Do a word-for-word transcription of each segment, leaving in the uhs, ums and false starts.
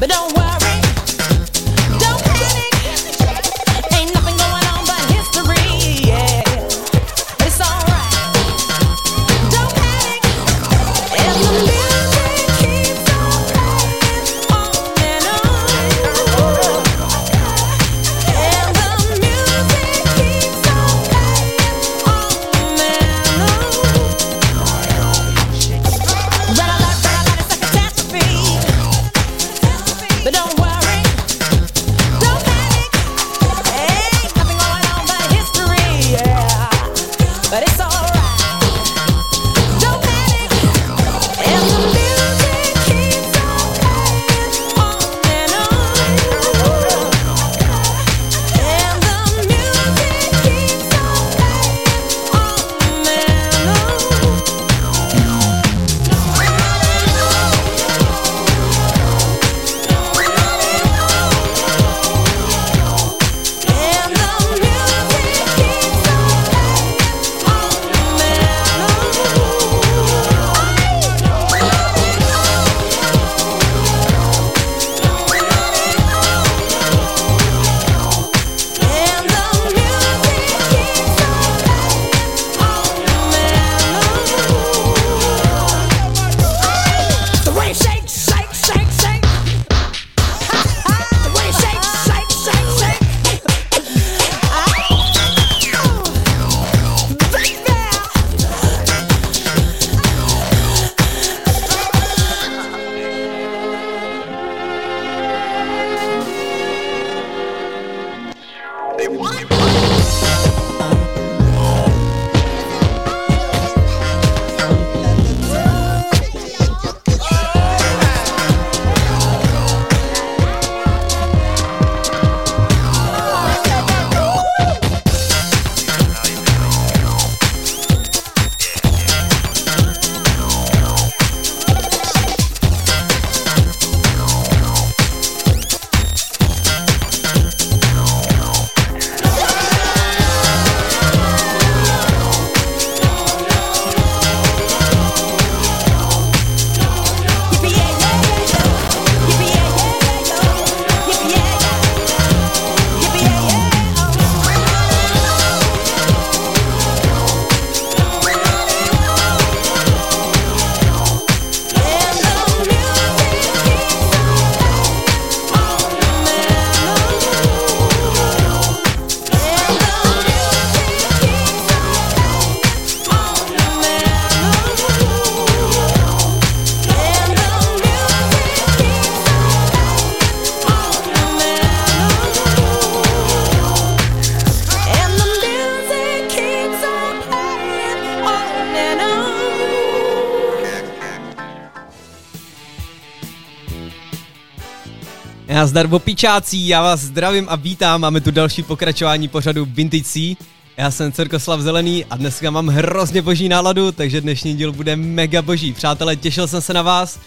Nazdar opičácí, já vás zdravím a vítám, máme tu další pokračování pořadu Vintage C. Já jsem Cirkoslav Zelený a dneska mám hrozně boží náladu, takže dnešní díl bude mega boží. Přátelé, těšil jsem se na vás.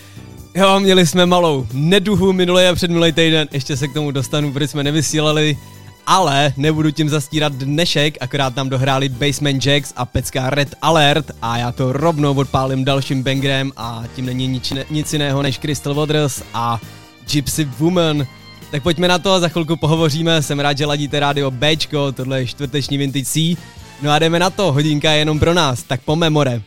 Jo, měli jsme malou neduhu minulý a předminulý týden, ještě se k tomu dostanu, protože jsme nevysílali, ale nebudu tím zastírat dnešek, akorát tam dohráli Basement Jacks a pecka Red Alert a já to rovnou odpálím dalším bangerem a tím není nic, nic jiného než Crystal Waters a Gypsy Woman. Tak pojďme na to, za chvilku pohovoříme, jsem rád, že ladíte rádio Bčko, tohle je čtvrteční Vintage C. No a jdeme na to, hodinka je jenom pro nás, tak po memore.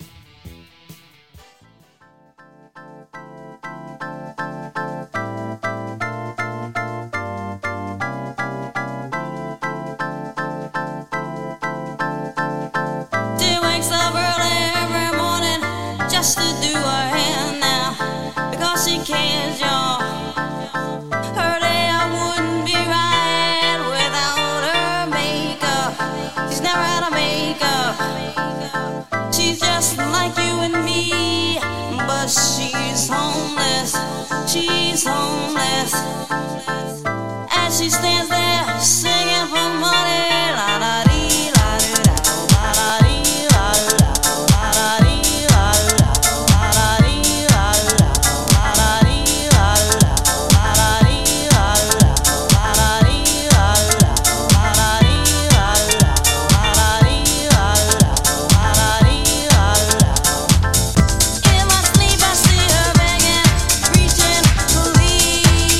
She's homeless, she's homeless, as she stands there singing for money. La da dee, la da da, la da dee, la da da, la da dee, la da da, la da dee, la da da, la da dee, la da da, la da dee, la da da, la da dee, la da da, la da dee, la da da, la da dee, la da da, la da dee, la da da. In my sleep I see her begging, reaching for leave.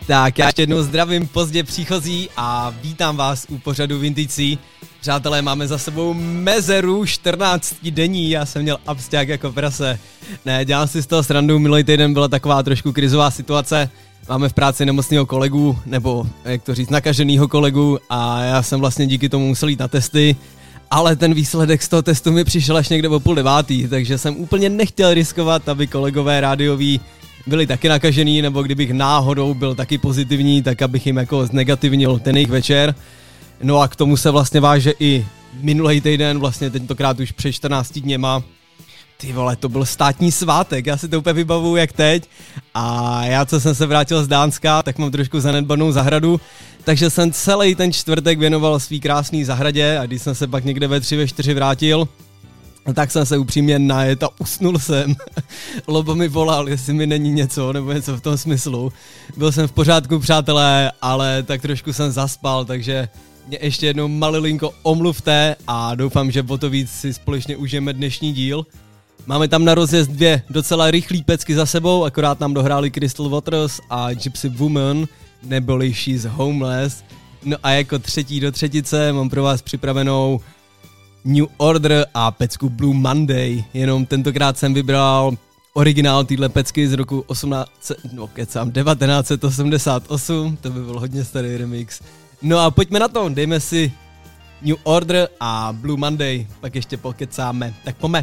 Tak já ještě jednou zdravím pozdě příchozí a vítám vás u pořadu Vintage C. Přátelé, máme za sebou mezeru čtrnáct denní, já jsem měl absťák jako prase. Ne, dělám si z toho srandu, minulý týden byla taková trošku krizová situace. Máme v práci nemocného kolegu, nebo jak to říct, nakaženého kolegu a já jsem vlastně díky tomu musel jít na testy. Ale ten výsledek z toho testu mi přišel až někde o půl devátý, takže jsem úplně nechtěl riskovat, aby kolegové rádioví byli taky nakažený, nebo kdybych náhodou byl taky pozitivní, tak abych jim jako znegativnil ten jejich večer. No a k tomu se vlastně váže i minulý týden, vlastně tentokrát už před čtrnácti dněma. Ty vole, to byl státní svátek, já si to úplně vybavuju jak teď. A já, co jsem se vrátil z Dánska, tak mám trošku zanedbanou zahradu, takže jsem celý ten čtvrtek věnoval svý krásný zahradě a když jsem se pak někde ve tři, ve čtyři vrátil, tak jsem se upřímně najet a usnul jsem. Lobo mi volal, jestli mi není něco, nebo něco v tom smyslu. Byl jsem v pořádku, přátelé, ale tak trošku jsem zaspal, takže mě ještě jednou malilinko omluvte a doufám, že o to víc si společně užijeme dnešní díl. Máme tam na rozjezd dvě docela rychlý pecky za sebou, akorát nám dohráli Crystal Waters a Gypsy Woman, neboli She's Homeless. No a jako třetí do třetice mám pro vás připravenou New Order a pecku Blue Monday, jenom tentokrát jsem vybral originál téhle pecky z roku osmnáct, no kecám, devatenáct set osmdesát osm, to by byl hodně starý remix. No a pojďme na to, dejme si New Order a Blue Monday, pak ještě pokecáme, tak pojďme.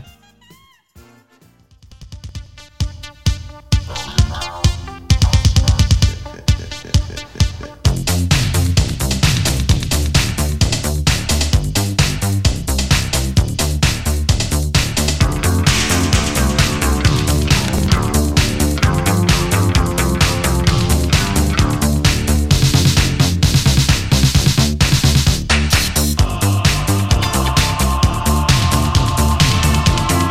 We'll be right back.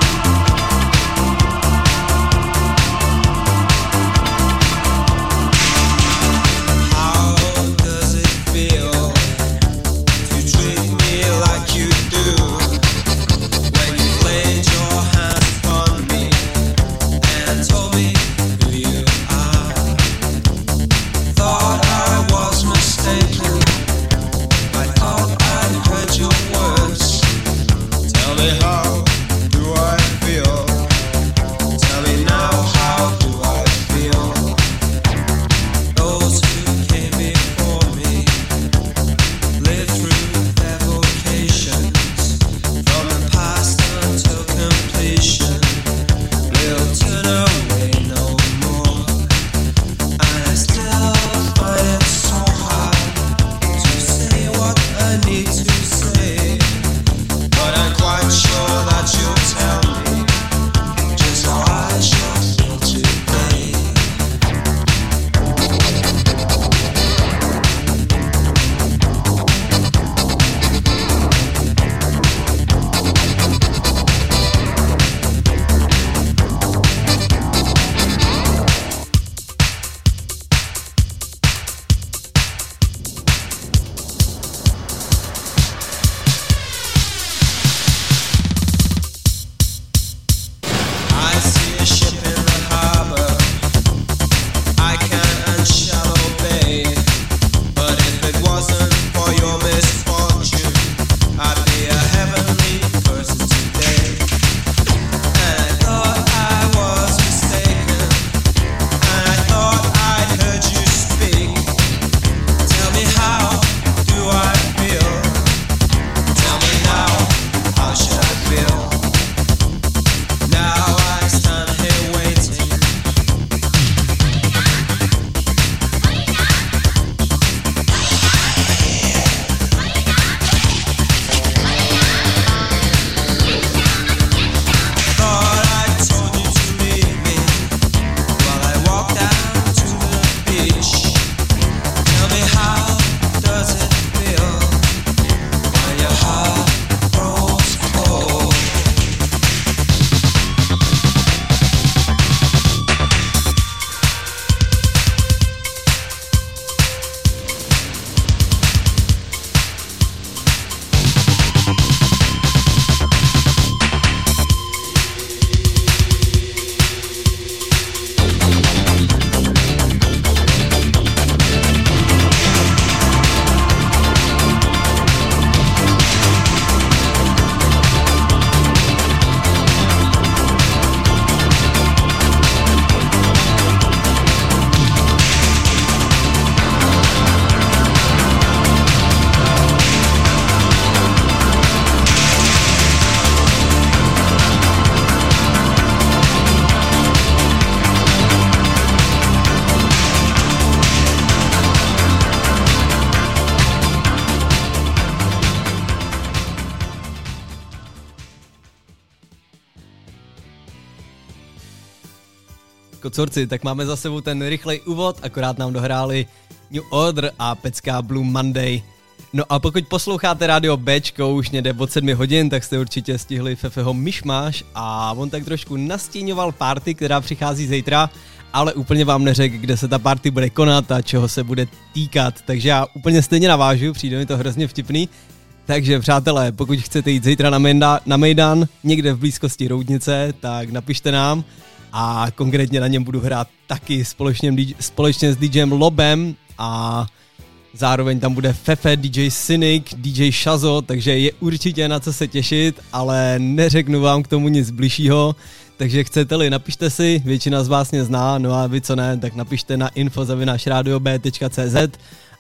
kocorci, tak máme za sebou ten rychlej úvod, akorát nám dohráli New Order a pecká Blue Monday. No a pokud posloucháte rádio Bčko už někde od sedmi hodin, tak jste určitě stihli Fefeho Myšmaš a on tak trošku nastíňoval party, která přichází zítra, ale úplně vám neřekl, kde se ta party bude konat a čeho se bude týkat, takže já úplně stejně navážu, přijde mi to hrozně vtipný. Takže přátelé, pokud chcete jít zítra na, Mejda, na Mejdan, někde v blízkosti Roudnice, tak napište nám a konkrétně na něm budu hrát taky společně, společně s DJem Lobem a zároveň tam bude Fefe, D J Cynic, D J Shazo, takže je určitě na co se těšit, ale neřeknu vám k tomu nic bližšího, takže chcete-li, napište si, většina z vás mě zná, no a vy co ne, tak napište na info zavináč radio b tečka cé zet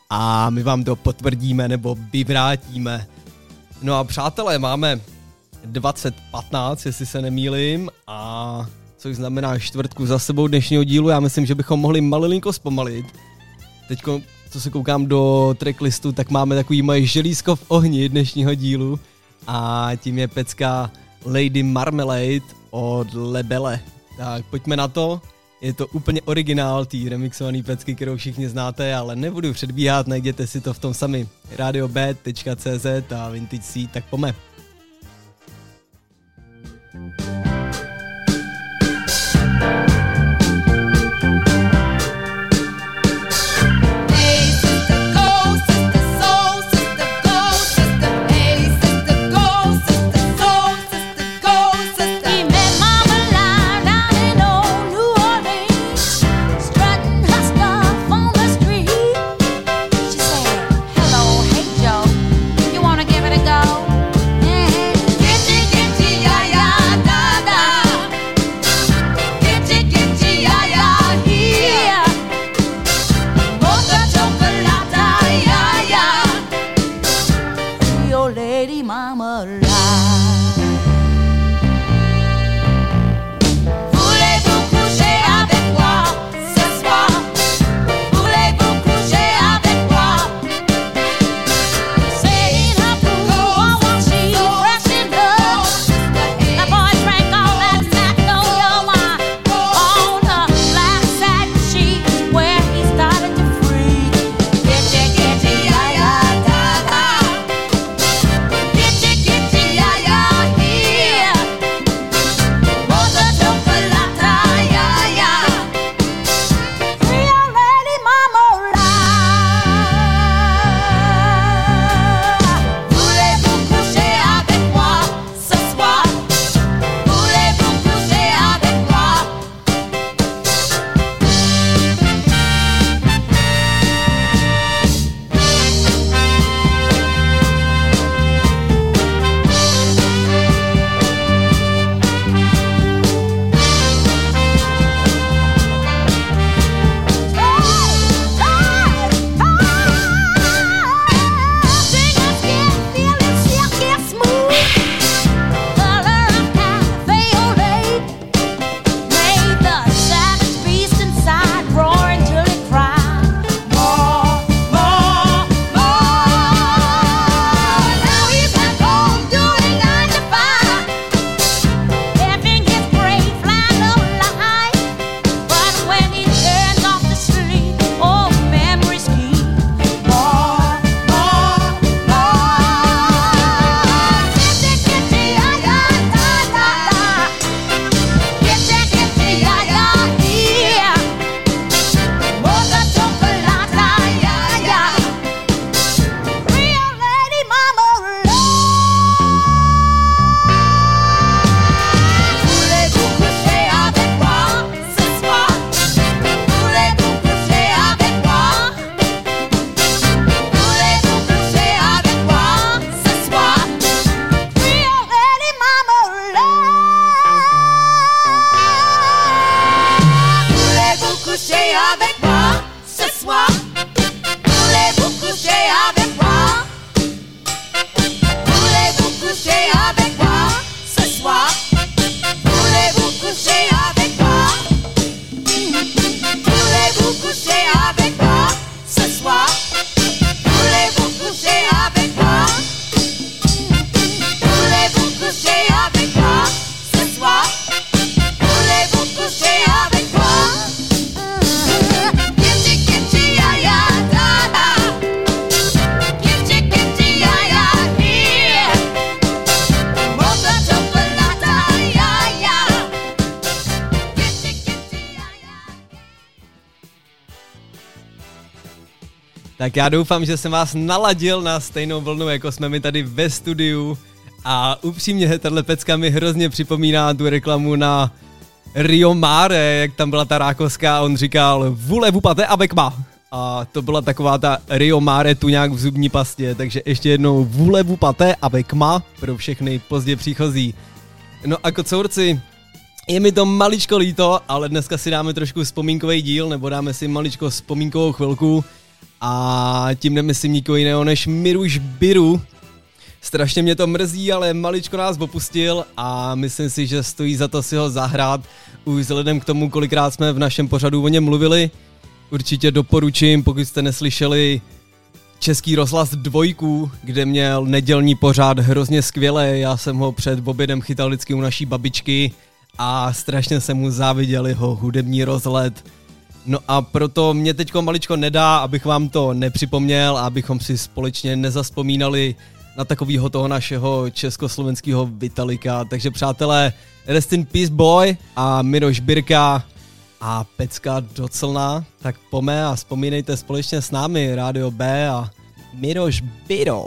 a my vám to potvrdíme nebo vyvrátíme. No a přátelé, máme dvacet patnáct, jestli se nemýlím, a což znamená čtvrtku za sebou dnešního dílu, já myslím, že bychom mohli malinko zpomalit. Teďko, co se koukám do tracklistu, tak máme takový moje želízko v ohni dnešního dílu a tím je pecka Lady Marmalade od Lebele. Tak pojďme na to. Je to úplně originál té remixované pecky, kterou všichni znáte, ale nebudu předbíhat, najděte si to v tom sami. radio b tečka cé zet a Vintage C, tak pome. Voulez-vous coucher avec moi? Tak já doufám, že jsem vás naladil na stejnou vlnu, jako jsme my tady ve studiu. A upřímně, tahle pecka mi hrozně připomíná tu reklamu na Rio Mare, jak tam byla ta Rákoská a on říkal vule vupate avec ma. A to byla taková ta Rio Mare tuňák v zubní pastě, takže ještě jednou vule vupate avec ma pro všechny pozdě příchozí. No a kocourci, je mi to maličko líto, ale dneska si dáme trošku vzpomínkový díl, nebo dáme si maličko vzpomínkovou chvilku a tím nemyslím nikoho jiného než Miruš Biru. Strašně mě to mrzí, ale maličko nás opustil a myslím si, že stojí za to si ho zahrát, už vzhledem k tomu, kolikrát jsme v našem pořadu o něm mluvili. Určitě doporučím, pokud jste neslyšeli Český rozhlas dvojku, kde měl nedělní pořád hrozně skvěle, já jsem ho před obědem chytal vždycky u naší babičky a strašně jsem mu záviděl jeho hudební rozhled. No a proto mě teďko maličko nedá, abych vám to nepřipomněl a abychom si společně nezazpomínali na takovýho toho našeho československého Vitalika. Takže přátelé, rest in peace boy a Miroš Birka a pecka doclná, tak pome a vzpomínejte společně s námi Rádio B a Miroš Biro.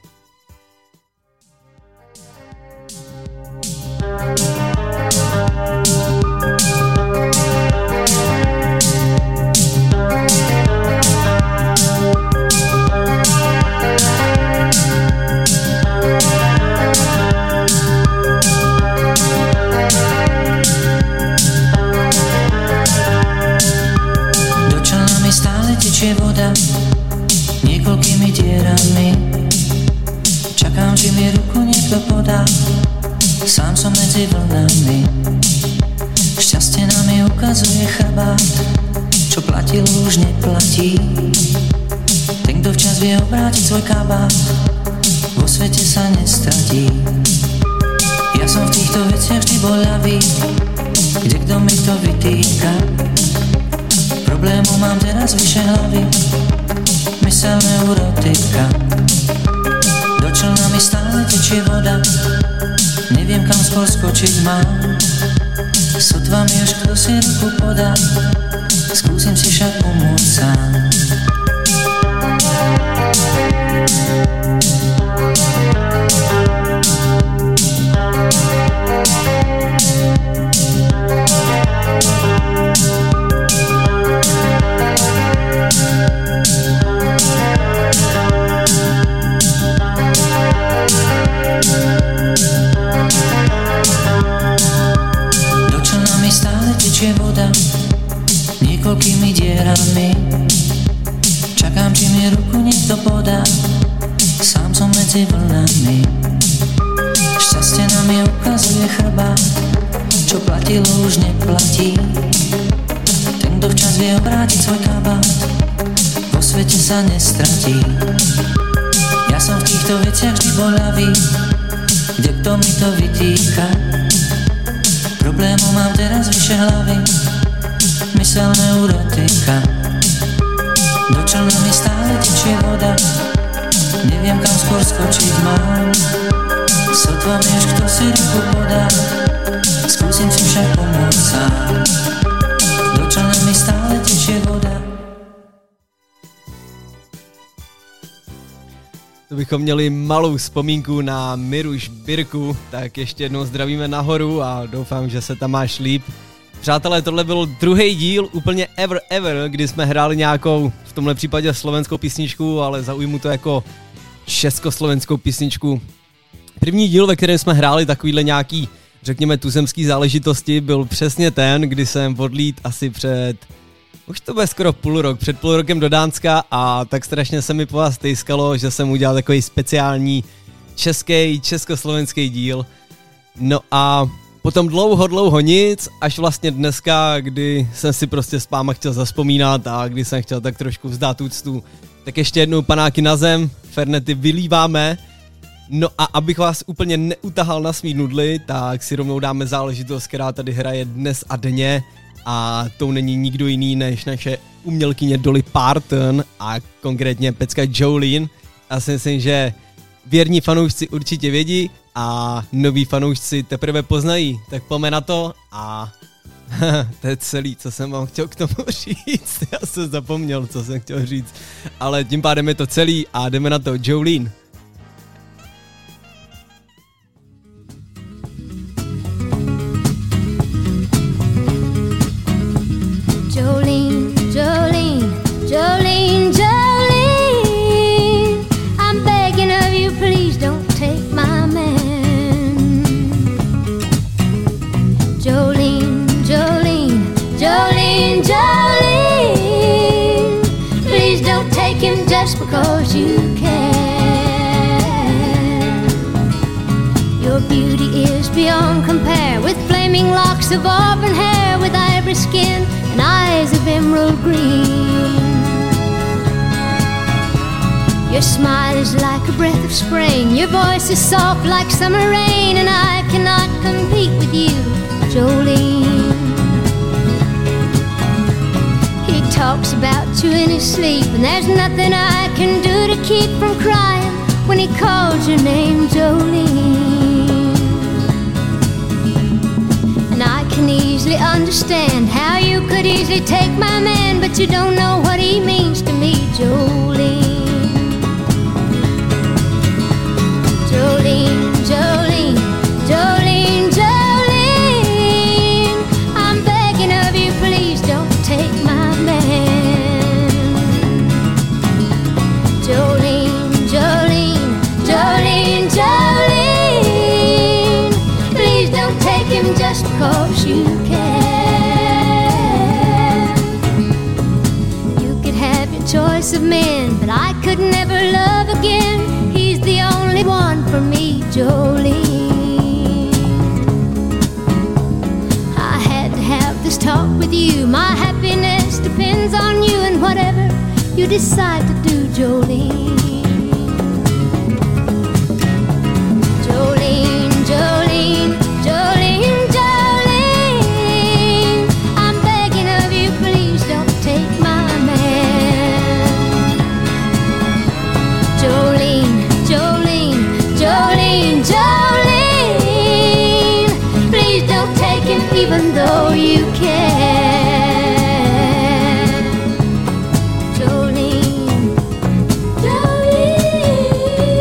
Teče voda niekoľkými dierami. Čakám, že mi ruku niekto podá. Sám som medzi vlnami. Šťastie nám mi ukazuje chrbát. Čo platilo, už neplatí. Ten, kto včas vie obrátiť svoj kabát, vo svete sa nestratí. Ja som v týchto veciach vždy bol ľavý. Kde kto mi to vytýka? Problémov mám teraz vyše hlavy, mysel neurotika. Do člna mi stále tečie voda, neviem kam skôr skočiť mám. Sotva mi už kto si ruku podá, skúsim si však pomôcť sám. Tečie voda niekoľkými dierami. Čakám, či mi ruku niekto podá. Sám som medzi vlnami. Šťastie nám mi ukazuje chrbát. Čo platilo, už neplatí. Ten, kto včas vie obrátiť svoj kabát, vo svete sa nestratí. Ja som v týchto veciach vždy bol ľavý. Kde kto mi to vytýka? Problémov mám teraz vyše hlavy, mysel neurotika. Do člna mi stále tečie voda, neviem kam skôr skočiť mám. Sotva mi už kto si ruku podá, skúsim si však pomôcť sám. Do člna mi stále tečie voda. To bychom měli malou vzpomínku na Miruš Birku, tak ještě jednou zdravíme nahoru a doufám, že se tam máš líp. Přátelé, tohle byl druhý díl úplně ever ever, kdy jsme hráli nějakou, v tomhle případě slovenskou písničku, ale zaujmu to jako československou písničku. První díl, ve kterém jsme hráli takovýhle nějaký, řekněme, tuzemský záležitosti, byl přesně ten, kdy jsem odlít asi před... Už to bude skoro půl rok, před půl rokem do Dánska a tak strašně se mi po vás tejskalo, že jsem udělal takový speciální český, československý díl. No a potom dlouho, dlouho nic, až vlastně dneska, kdy jsem si prostě s váma chtěl zazpomínat a kdy jsem chtěl tak trošku vzdát úctu, tak ještě jednou panáky na zem, fernety vylíváme. No a abych vás úplně neutahal na svý nudly, tak si rovnou dáme záležitost, která tady hraje dnes a denně. A to není nikdo jiný než naše umělkyně Dolly Parton a konkrétně pecka Jolene. Já si myslím, že věrní fanoušci určitě vědí a noví fanoušci teprve poznají. Tak pojďme na to a To je celý, co jsem vám chtěl k tomu říct. Já jsem zapomněl, co jsem chtěl říct. Ale tím pádem je to celý a jdeme na to. Jolene. Jolene, Jolene, Jolene, Jolene, I'm begging of you, please don't take my man. Jolene, Jolene, Jolene, Jolene, please don't take him just because you can. Your beauty is beyond compare, with flaming locks of auburn hair, with ivory skin and eyes of emerald green. Your smile is like a breath of spring, your voice is soft like summer rain, and I cannot compete with you, Jolene. He talks about you in his sleep, and there's nothing I can do to keep from crying when he calls your name, Jolene. And I can easily understand how you could easily take my man, but you don't know what he means to me, Jolene. Jolene, Jolene, Jolene, Jolene, I'm begging of you, please don't take my man. Jolene, Jolene, Jolene, Jolene, please don't take him just because you can. You could have your choice of men, but I could never love again. He's the only one for me, Jolene. I had to have this talk with you. My happiness depends on you, and whatever you decide to do, Jolene. Jolene, Jolene, Jolene, Jolene, I'm begging of you, please don't take my man. Jolene, Jolene, Jolene, Jolene, please don't take him even though you can. Jolene, Jolene.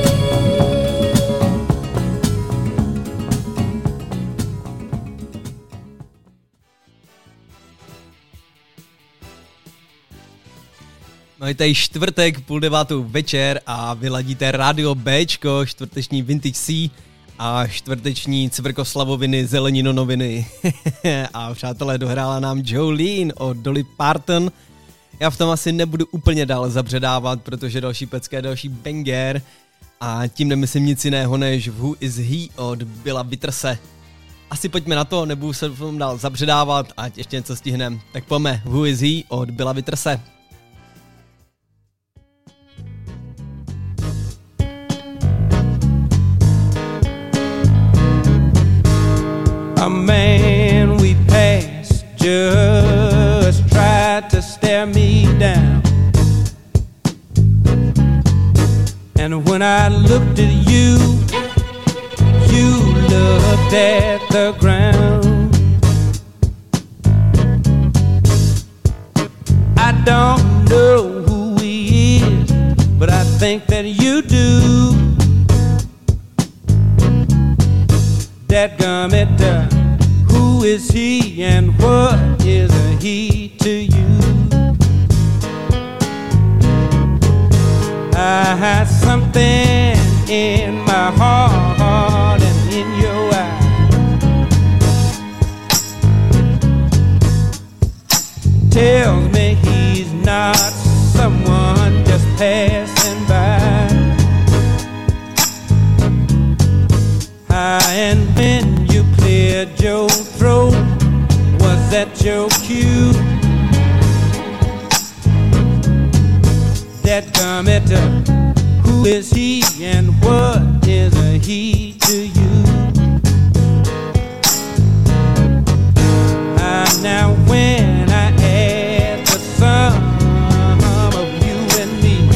No je tady čtvrtek, půl devátou večer a vy ladíte rádio Bčko, čtvrteční Vintage C a čtvrteční Cvrkoslavoviny Zelenino noviny. A přátelé, dohrála nám Jolene od Dolly Parton. Já v tom asi nebudu úplně dál zabředávat, protože další pecka je další banger a tím nemyslím nic jiného než Who is he od Billa Witterse. Asi pojďme na to, nebudu se v tom dál zabředávat, ať ještě něco stihnem. Tak pojďme, Who is he od Billa Witterse. A man we passed just tried to stare me down. And when I looked at you, you looked at the ground. I don't know who he is, but I think that you do. Dadgummit, uh, who is he and what is a he to you? I had something in my heart and in your eye. Tells me he's not someone just passing by. And when you cleared your throat, was that your cue? Dadgummit, who is he and what is a he to you? And now when I add the sum of you and me,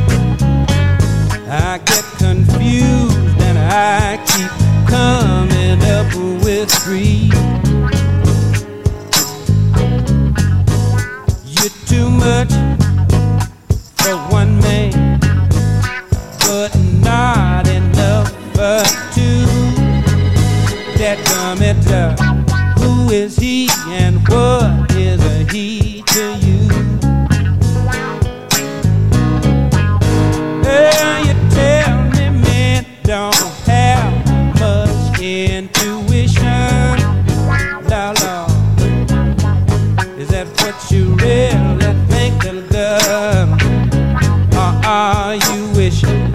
I get confused and I keep coming end up with three. You're too much for one man, but not enough for two. That commit, uh, who is he and what is a he to you? Well, you tell me men don't have much intuition. La la, is that what you really think, little girl? Or are you wishing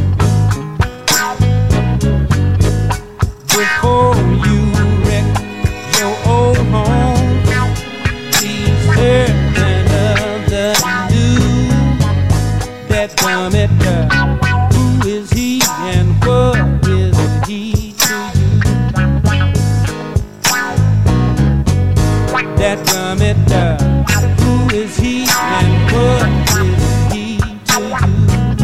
before you wreck your old home? Be certain of the new. That dumb it, who is he and what is he to you? That dumb it, who is he and what is he to you?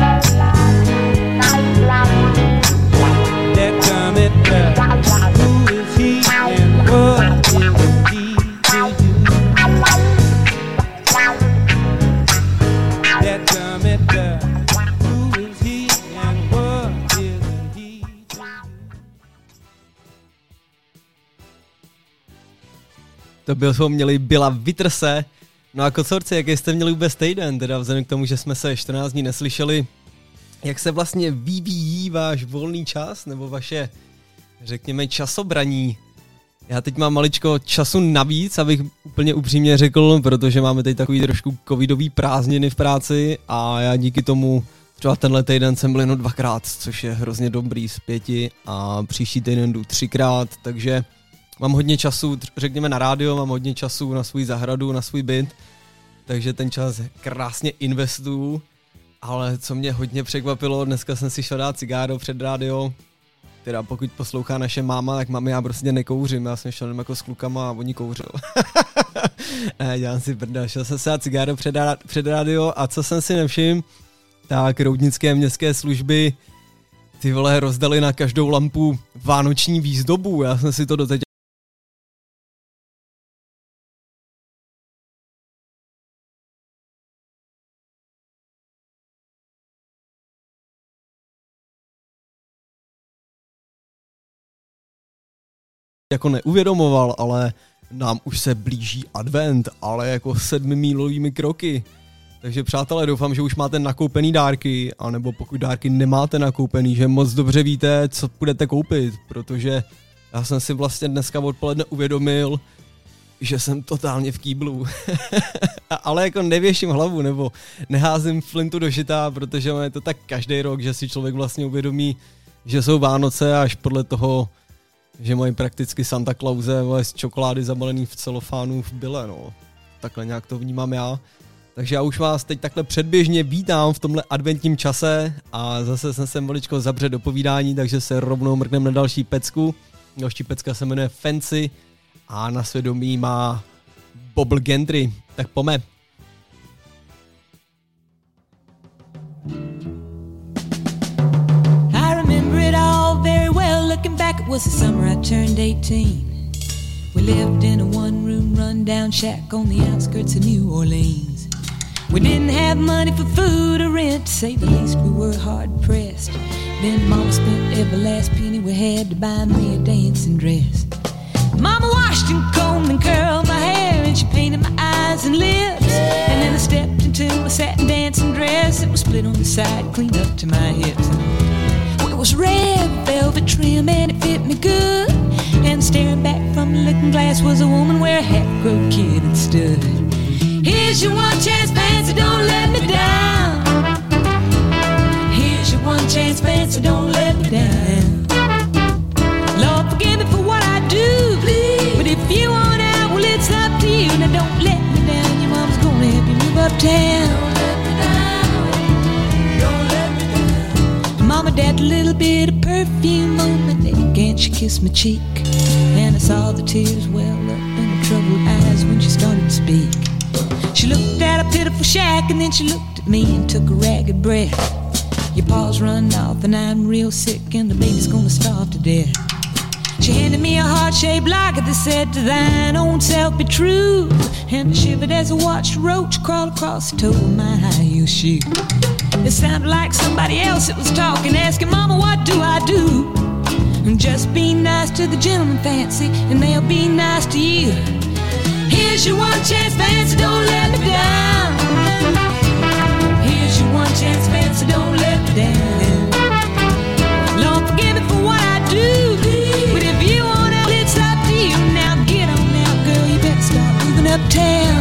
That dumb it, who is he and what is he to you? That dumb it, who is he and what is he to you? To bychom měli Billa Witterse. No a kocorci, jak jste měli vůbec týden, teda vzhledem k tomu, že jsme se čtrnáct dní neslyšeli, jak se vlastně vyvíjí váš volný čas, nebo vaše, řekněme, časobraní? Já teď mám maličko času navíc, abych úplně upřímně řekl, protože máme teď takový trošku covidový prázdniny v práci a já díky tomu třeba tenhle týden jsem byl jenom dvakrát, což je hrozně dobrý z pěti a příští týden jdu třikrát, takže mám hodně času, řekněme, na rádio, mám hodně času na svůj zahradu, na svůj byt, takže ten čas krásně investuju, ale co mě hodně překvapilo, dneska jsem si šel dát cigáro před rádio, teda pokud poslouchá naše máma, tak mami, já prostě nekouřím, já jsem šel jenom jako s klukama a oni kouřil. Ne, dělám si brda, šel jsem si dát cigáro před, před rádio a co jsem si nevšiml, tak roudnické městské služby ty vole rozdali na každou lampu vánoční výzdobu, já jsem si to doteď jako neuvědomoval, ale nám už se blíží advent, ale jako sedmimílovými kroky. Takže přátelé, doufám, že už máte nakoupený dárky, anebo pokud dárky nemáte nakoupený, že moc dobře víte, co budete koupit, protože já jsem si vlastně dneska odpoledne uvědomil, že jsem totálně v kýblu. Ale jako nevěším hlavu, nebo neházím flintu do žita, protože je to tak každý rok, že si člověk vlastně uvědomí, že jsou Vánoce až podle toho, že mají prakticky Santa Clause z čokolády zabalený v celofánu v byle, no. Takhle nějak to vnímám já. Takže já už vás teď takhle předběžně vítám v tomhle adventním čase a zase jsem se maličko zabře do povídání, takže se rovnou mrkneme na další pecku. Další pecka se jmenuje Fancy a na svědomí má Bobble Gentry. Tak pojďme. Looking back, it was the summer I turned eighteen. We lived in a one-room run-down shack on the outskirts of New Orleans. We didn't have money for food or rent, to say the least we were hard-pressed. Then Mama spent every last penny we had to buy me a dancing dress. Mama washed and combed and curled my hair, and she painted my eyes and lips. And then I stepped into my satin dancing dress. It was split on the side, cleaned up to my hips. It was red velvet trim and it fit me good. And staring back from the looking glass was a woman where a half-grown kid had stood. Here's your one chance, Fancy, don't let me down. Here's your one chance, Fancy, don't let me down. Lord, forgive me for what I do, please. But if you want out, well, it's up to you. Now don't let me down, your mom's gonna help you move uptown. Mama dabbed a little bit of perfume on my neck and she kissed my cheek. And I saw the tears well up in her troubled eyes when she started to speak. She looked at a pitiful shack and then she looked at me and took a ragged breath. Your paws run off and I'm real sick and the baby's gonna starve to death. She handed me a heart-shaped locket that said, to thine own self be true. And I shivered as I watched a roach crawl across the toe of my high-heel shoe. It sounded like somebody else that was talking, asking, Mama, what do I do? And just be nice to the gentleman, Fancy, and they'll be nice to you. Here's your one chance, Fancy, don't let me down. Here's your one chance, Fancy, don't let me down. Lord, forgive me for what I do, but if you want out, it's up to you. Now get on now, girl, you better start moving uptown.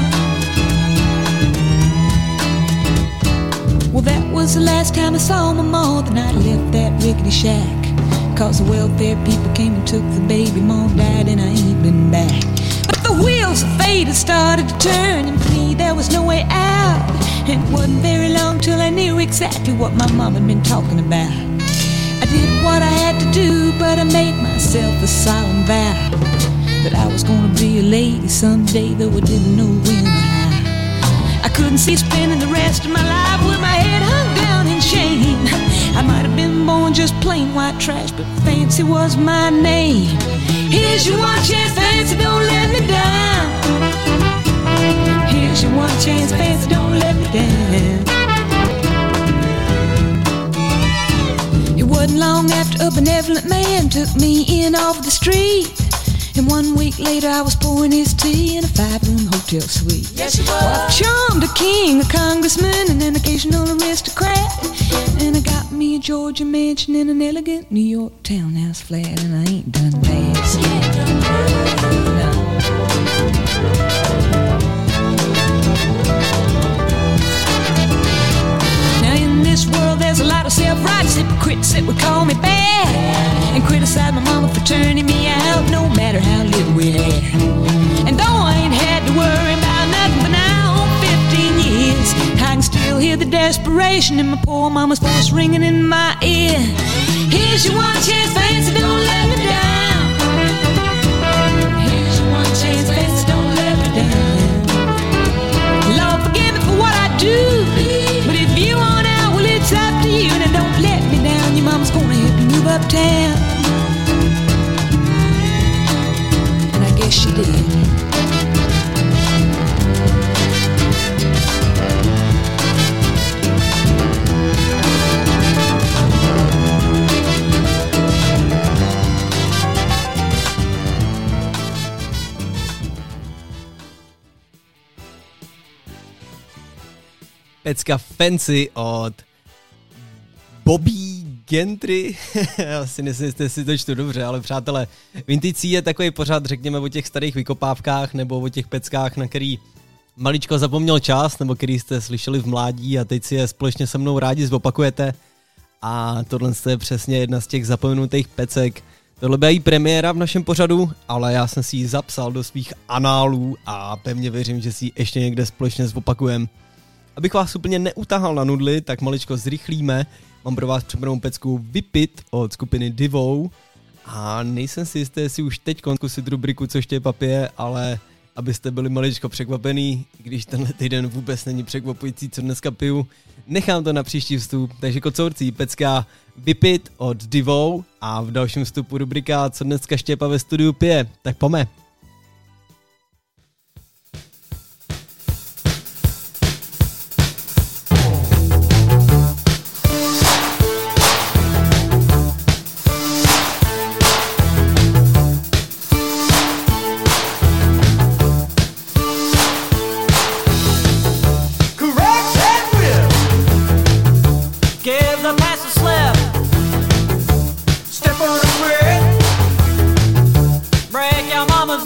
Well, that was the last time I saw my ma, the night I left that rickety shack. Cause the welfare people came and took the baby, Mom died and I ain't been back. But the wheels of fate had started to turn, and for me there was no way out. And it wasn't very long till I knew exactly what my mom had been talking about. I did what I had to do, but I made myself a solemn vow that I was gonna be a lady someday, though I didn't know when or how. I couldn't see spending the rest of my life with my head hung down in shame. I might have been born just plain white trash, but Fancy was my name. Here's your one chance, Fancy, don't let me down. Here's your one chance, Fancy, don't let me down. It wasn't long after a benevolent man took me in off the street. And one week later I was pouring his tea in a five-room hotel suite. Yes, you were. Well, I've charmed a king, a congressman, and an occasional aristocrat. And I got me a Georgia mansion in an elegant New York townhouse flat. And I ain't done bad. She ain't done bad. No. Now in this world there's a lot of self-righteous hypocrites that would call me bad and criticize my mama for turning me out, no matter how little we had. And though I ain't had to worry about nothing but now on fifteen years, I can still hear the desperation in my poor mama's voice ringing in my ear. Here's your one chance, Fancy, don't let me down. Here's your one chance, Fancy, don't let me down. Lord, forgive me for what I do, but if you want out, well, it's up to you. Now don't let me down, your mama's gonna help you move uptown. And I guess she did. Pecka Fancy od Bobby Gentry. Já si myslím, že si to čtu dobře, ale přátelé, Vintage je takový pořád, řekněme, o těch starých vykopávkách nebo o těch peckách, na který maličko zapomněl čas, nebo který jste slyšeli v mládí a teď si je společně se mnou rádi zopakujete. A tohle je přesně jedna z těch zapomenutých pecek. Tohle byla jí premiéra v našem pořadu, ale já jsem si ji zapsal do svých análů a pevně věřím, že si ji ještě někde společně zopakujem. Abych vás úplně neutahal na nudly, tak maličko zrychlíme. Mám pro vás připravenou pecku Vypit od skupiny Divou. A nejsem si jistý, jestli už teď zkusit rubriku Co štěpá pije, ale abyste byli maličko překvapený, když tenhle týden vůbec není překvapující, co dneska piju, nechám to na příští vstup. Takže kocourcí, pecka Vypit od Divou a v dalším vstupu rubrika Co dneska Štěpa ve studiu pije. Tak pojďme. Break your mama's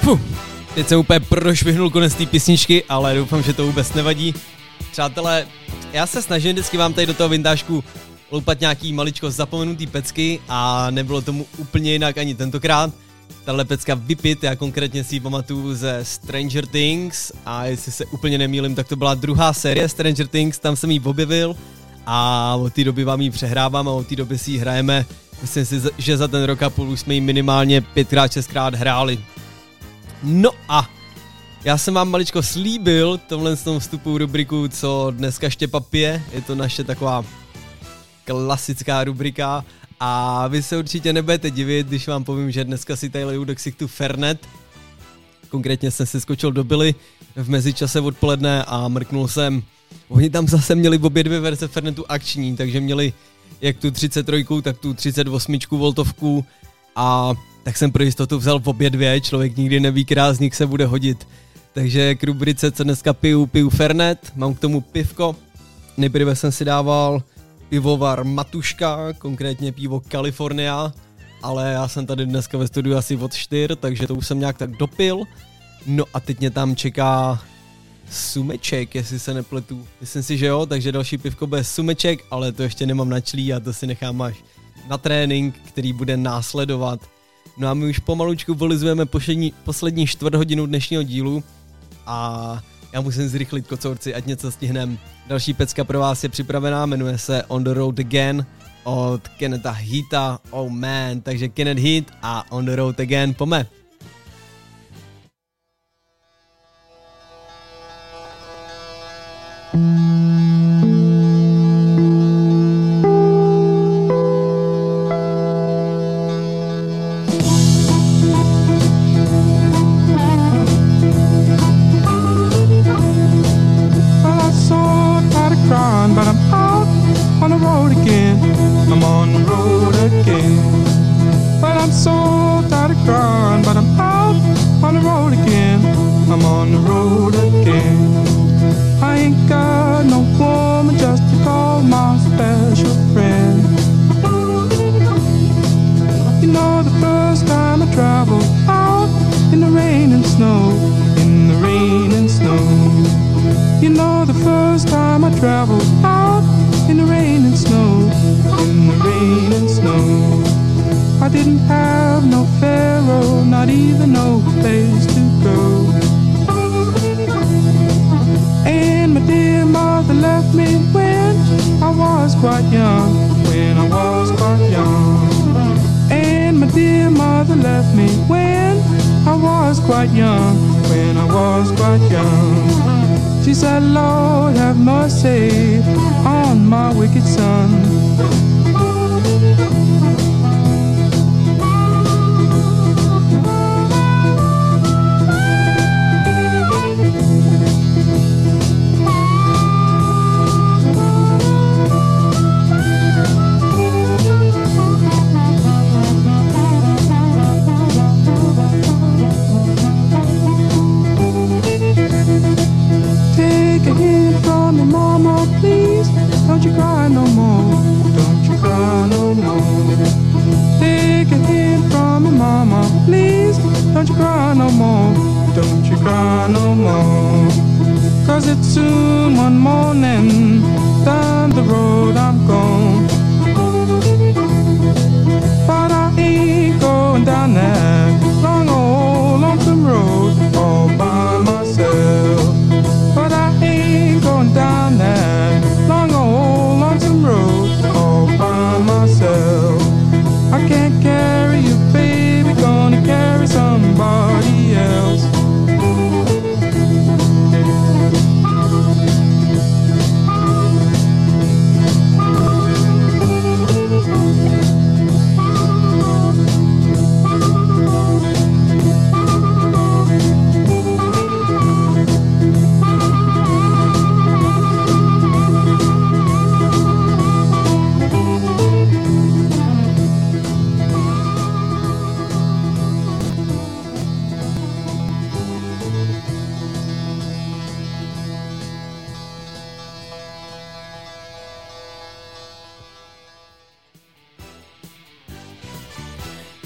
Fuh, teď jsem úplně prošvihnul konec té písničky, ale doufám, že to vůbec nevadí. Přátelé, já se snažím vždycky vám tady do toho vintážku loupat nějaký maličko zapomenutý pecky a nebylo tomu úplně jinak ani tentokrát. Tahle pecka Whip It, já konkrétně si ji pamatuju ze Stranger Things a jestli se úplně nemýlím, tak to byla druhá série Stranger Things, tam jsem ji objevil a od té doby vám ji přehrávám a od té doby si ji hrajeme. Myslím si, že za ten rok a půl už jsme ji minimálně pětkrát, šestkrát hráli. No a já jsem vám maličko slíbil tomhle z tom vstupu rubriku, co dneska Štěpa pije, je to naše taková klasická rubrika a vy se určitě nebudete divit, když vám povím, že dneska si tady leju do ksichtu Fernet. Konkrétně jsem si skočil do Billy v mezičase odpoledne a mrknul jsem. Oni tam zase měli obě dvě verze Fernetu akční, takže měli jak tu třicet tři, tak tu třicet osm voltovku a tak jsem pro jistotu vzal v obě dvě, člověk nikdy neví, která z nich se bude hodit. Takže k rubrice, co dneska piju, piju Fernet, mám k tomu pivko. Nejprve jsem si dával pivovar Matuška, konkrétně pivo California, ale já jsem tady dneska ve studiu asi od čtyř, takže to už jsem nějak tak dopil. No a teď mě tam čeká Sumeček, jestli se nepletu. Myslím si, že jo, takže další pivko bude Sumeček, ale to ještě nemám načlí a to si nechám až na trénink, který bude následovat. No a my už pomalučku volizujeme poslední, poslední čtvrt hodinu dnešního dílu a já musím zrychlit, kocourci, ať něco stihnem. Další pecka pro vás je připravená, jmenuje se On the Road Again od Kennetha Heata, oh man, takže Kenneth Heat a On the Road Again, pome.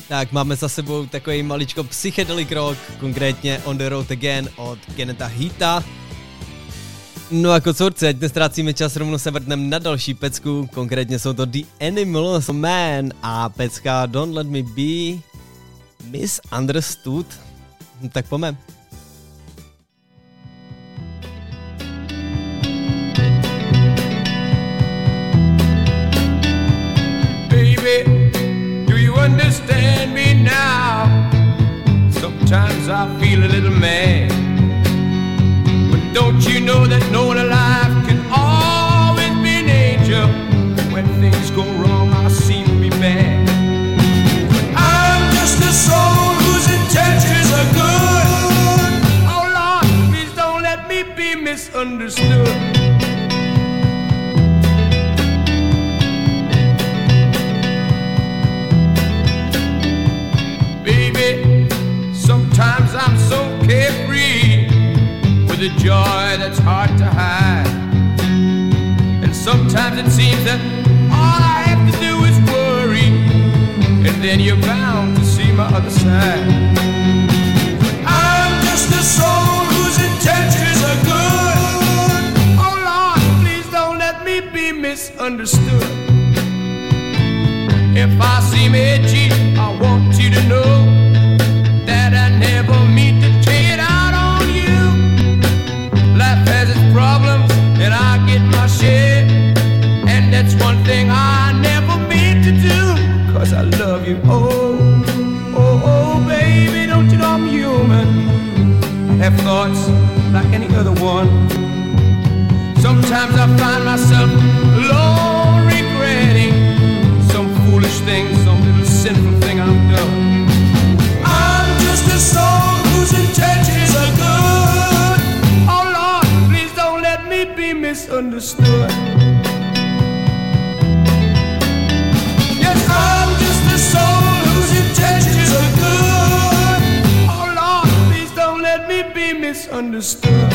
Tak máme za sebou takový maličko psychedelic rock, konkrétně On the Road Again od Kennetha Heata. No a kocurci, ať nestrácíme čas, rovnou se vrtnem na další pecku, konkrétně jsou to The Animals Man a pecka Don't Let Me Be Misunderstood. Tak pojďme. Baby, do you understand me now? Sometimes I feel a little mad, but don't you know that no one alive can always be an angel? When things go wrong, I seem to be bad. I'm just a soul whose intentions are good. Oh Lord, please don't let me be misunderstood. Sometimes I'm so carefree with a joy that's hard to hide. And sometimes it seems that all I have to do is worry, and then you're bound to see my other side. I'm just a soul whose intentions are good. Oh Lord, please don't let me be misunderstood. If I seem edgy, I want you to know that I never mean to take it out on you. Life has its problems and I get my share, and that's one thing I never mean to do, cause I love you. Oh, oh, oh baby, don't you know I'm human? I have thoughts like any other one. Sometimes I find myself alone regretting some foolish thing, some little sinful thing I've done. A soul whose intentions are good. Oh Lord, please don't let me be misunderstood. Yes, I'm just a soul whose intentions are good. Oh Lord, please don't let me be misunderstood.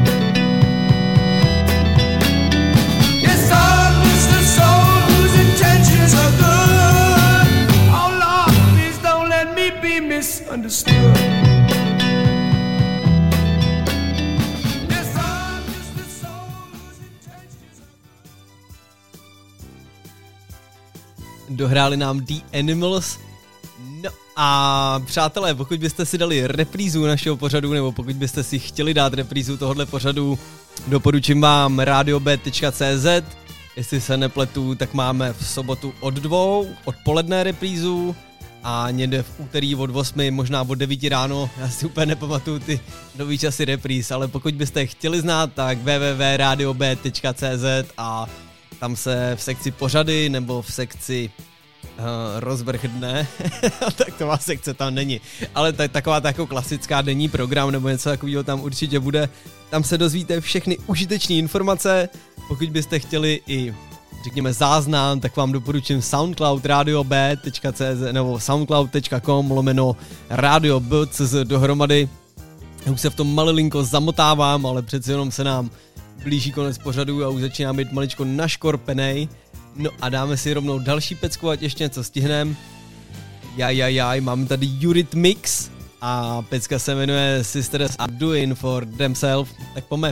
Yes, I'm just a soul whose intentions are good. Oh Lord, please don't let me be misunderstood. Dohráli nám The Animals. No a přátelé, pokud byste si dali reprízu našeho pořadu, nebo pokud byste si chtěli dát reprízu tohohle pořadu, doporučím vám radio b tečka c z. Jestli se nepletu, tak máme v sobotu od dvou, odpoledne reprízu a někde v úterý od osmi, možná od devíti ráno, já si úplně nepamatuju ty nový časy repríz, ale pokud byste chtěli znát, tak w w w tečka radio b tečka c z a tam se v sekci pořady nebo v sekci uh, rozvrh dne, tak to má sekce tam není, ale tak, taková ta jako klasická denní program nebo něco takového tam určitě bude. Tam se dozvíte všechny užitečné informace, pokud byste chtěli i řekněme záznam, tak vám doporučím SoundCloud radio b tečka c z nebo soundcloud tečka com lomeno radio b tečka c z dohromady. Já už se v tom malilinko zamotávám, ale přeci jenom se nám blíží konec pořadu a už začíná být maličko naškorpenej. No a dáme si rovnou další pecku, ať ještě něco stihnem. Jaj, jaj, jaj, máme tady Eurythmics a pecka se jmenuje Sisters Are Doing For Themselves, tak pojďme.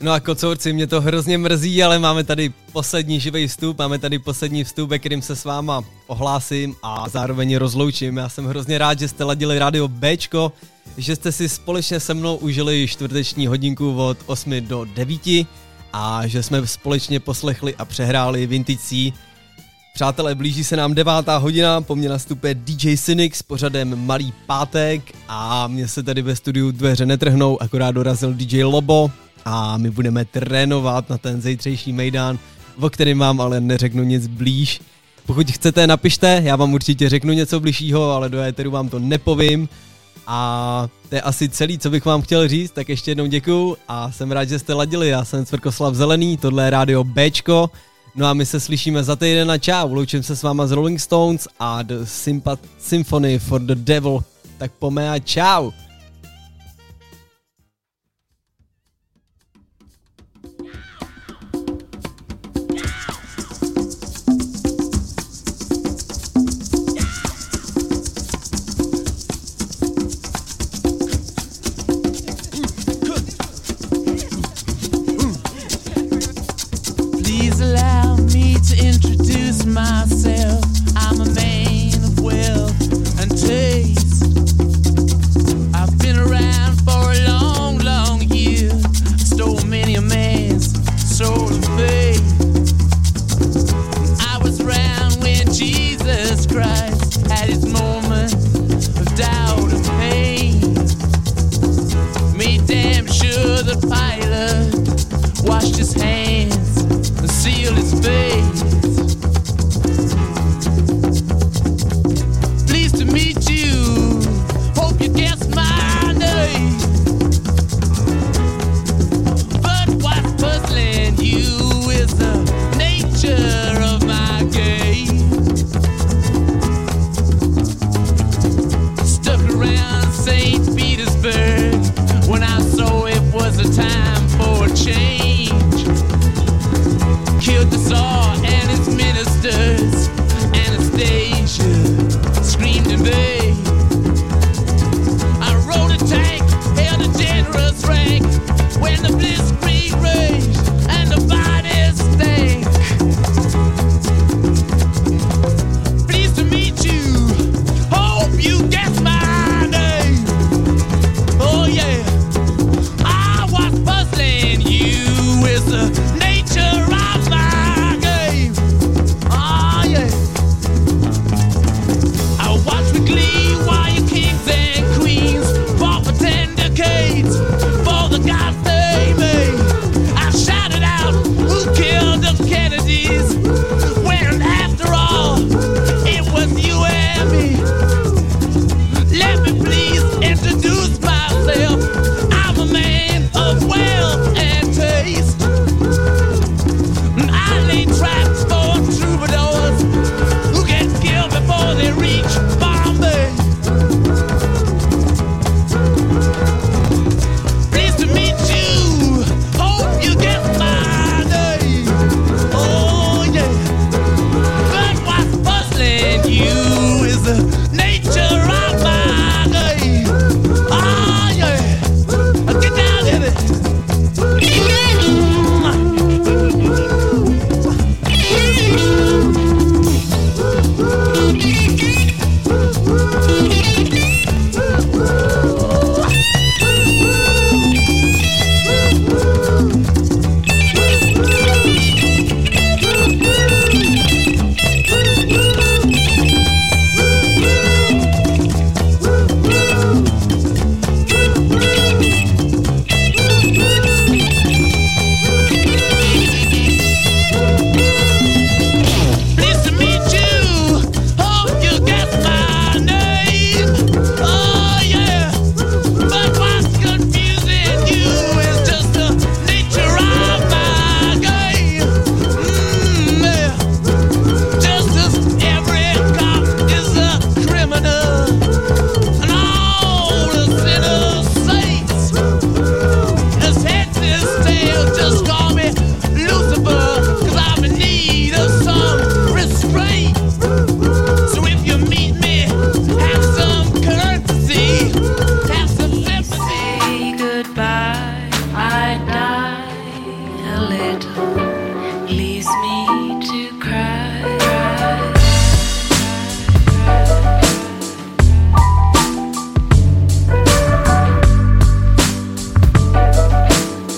No a kocourci, mě to hrozně mrzí, ale máme tady poslední živý vstup, máme tady poslední vstup, ve kterým se s váma ohlásím a zároveň rozloučím. Já jsem hrozně rád, že jste ladili rádio Bčko, že jste si společně se mnou užili čtvrteční hodinku od osmi do devíti a že jsme společně poslechli a přehráli Vintage C. Přátelé, blíží se nám devátá hodina, po mně nastupuje D J Cynic s pořadem Malý pátek a mě se tady ve studiu dveře netrhnou, akorát dorazil D J Lobo a my budeme trénovat na ten zítřejší mejdán, o kterém vám ale neřeknu nic blíž. Pokud chcete, napište, já vám určitě řeknu něco blížšího, ale do éteru vám to nepovím. A to je asi celý, co bych vám chtěl říct, tak ještě jednou děkuju a jsem rád, že jste ladili. Já jsem Cvrkoslav Zelený, tohle je rádio Bčko. No a my se slyšíme za týden a čau, loučím se s váma z Rolling Stones a The Sympath- Symphony for the Devil. Tak pome a čau. Myself, I'm a man of wealth and taste. I've been around for a long, long year. Stole many a man's soul of faith. I was around when Jesus Christ had his moment of doubt and pain. Made damn sure the pilot washed his hands and sealed his face. Meet you, hope you guess my name. But what's puzzling you is the nature of my game. Stuck around Saint Petersburg when I saw it was a time for a change. Killed the Tsar and his ministers, Anastasia screamed in vain. I rode a tank, held a generous rank when the blitzkrieg raged and the bodies stank. Pleased to meet you, hope you guess my name. Oh yeah, I was puzzling you with the nature of my game. Oh yeah. Watch with glee while your kings and queens fought for ten decades for the gods they made. I shouted out, who killed the Kennedys? When after all, it was you and me. Let me please introduce myself. I'm a man of wealth and taste. I lay traps for troubadours who get killed before they reach Bombay. Pleased to meet you, hope you get my name. Oh yeah, but what's puzzling you is the